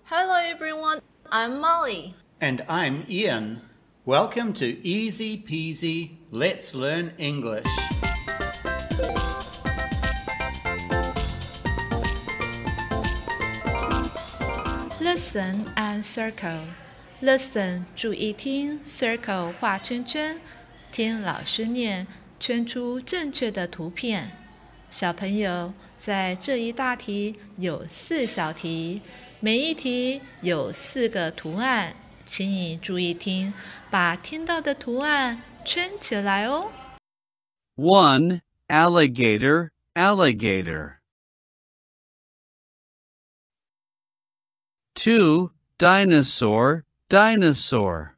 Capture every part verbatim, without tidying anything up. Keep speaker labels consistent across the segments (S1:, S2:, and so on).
S1: Hello everyone, I'm Molly.
S2: And I'm Ian. Welcome to Easy Peasy Let's Learn English.
S1: Listen and circle. Listen 注意听 Circle 画圈圈听老师念圈出正确的图片。小朋友，在这一大题有四小题，每一题有四个图案，请你注意听，把听到的图案圈起来哦。
S3: one. Alligator, alligator. two. Dinosaur, dinosaur.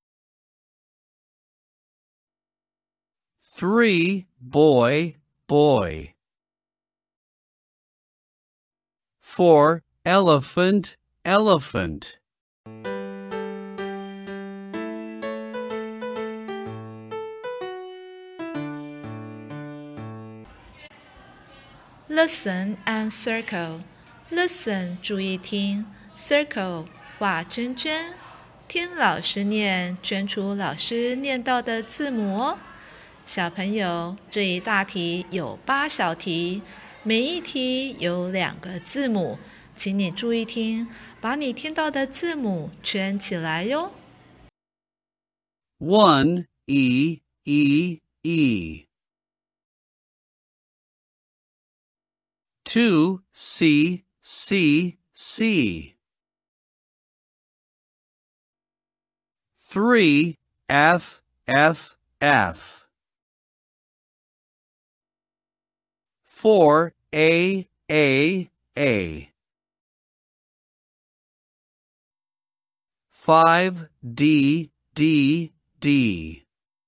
S3: three. Boy, boy. four. Elephant, elephant.
S1: Listen and circle. Listen 注意听 Circle 画圈圈听老师念圈出老师念到的字母哦。小朋友，这一大题有八小题，每一题有两个字母，请你注意听，把你听到的字母圈起来哟。
S3: one. E, E, E. two. C, C, C. three. F, F, F. four. A, A, A. five. D, D, D.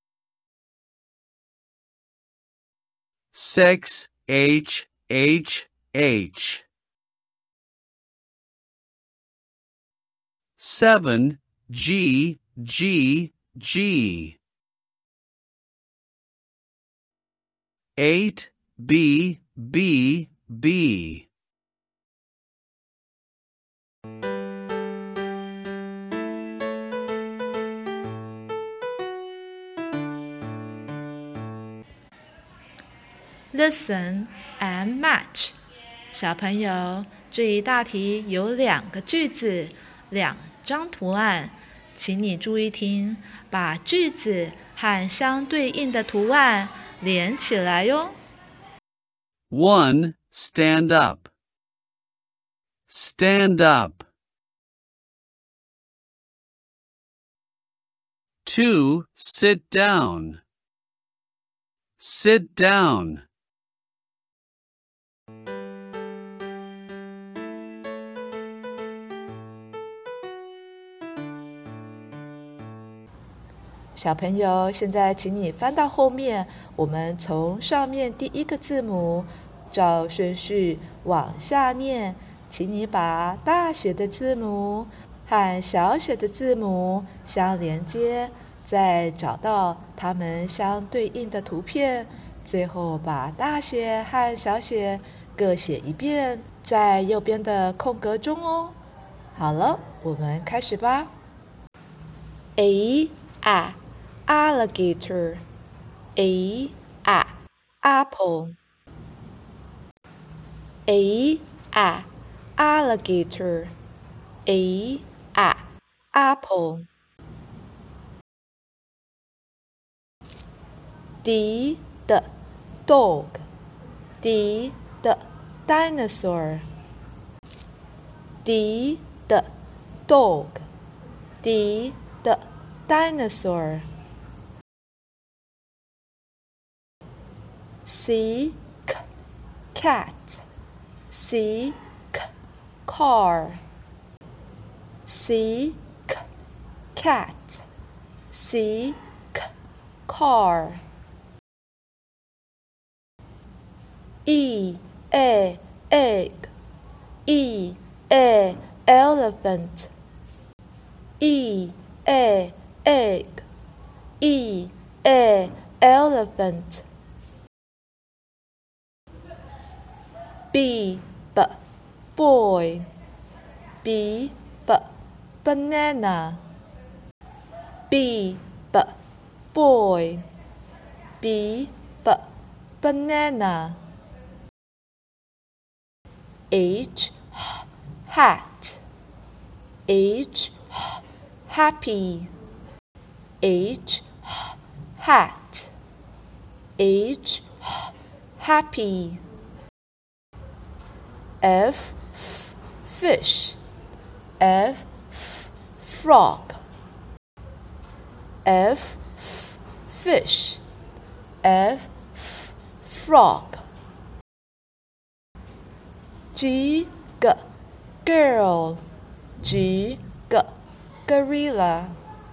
S3: six. H, H, H. seven. G, G, G. eight. B, B, B.
S1: Listen and match. 小朋友，这一大题有两个句子，两张图案，请你注意听，把句子和相对应的图案连起来哟。
S3: one. Stand up. Stand up. two. Sit down. Sit down. .
S1: 小朋友，现在请你翻到后面，我们从上面第一个字母照顺序往下念，请你把大写的字母和小写的字母相连接，再找到它们相对应的图片，最后把大写和小写各写一遍，在右边的空格中哦。好了，我们开始吧。A A alligator. A A apple. A A alligator. A A apple. D D dog. D D dinosaur. D D dog. D D dinosaur. C C cat. C C car. C C cat. C C car. E A egg. E A elephant. E A egg. E A elephant. B B boy. B b banana. B b boy. B b banana. H h hat. H h happy. H h hat. H h happy. F f fish. F f frog. F f fish. F f frog. G g girl. G g gorilla.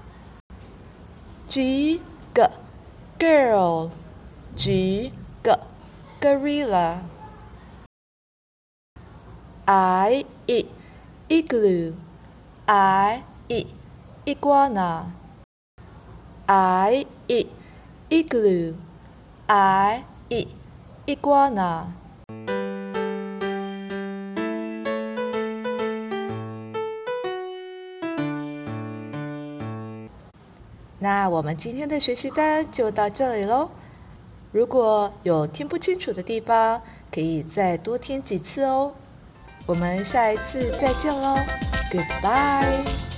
S1: G g girl. G g gorilla. I e igloo. I e iguana. I e igloo. I e iguana. 那我们今天的学习单就到这里喽。如果有听不清楚的地方，可以再多听几次哦。我们下一次再见喽 ，Goodbye。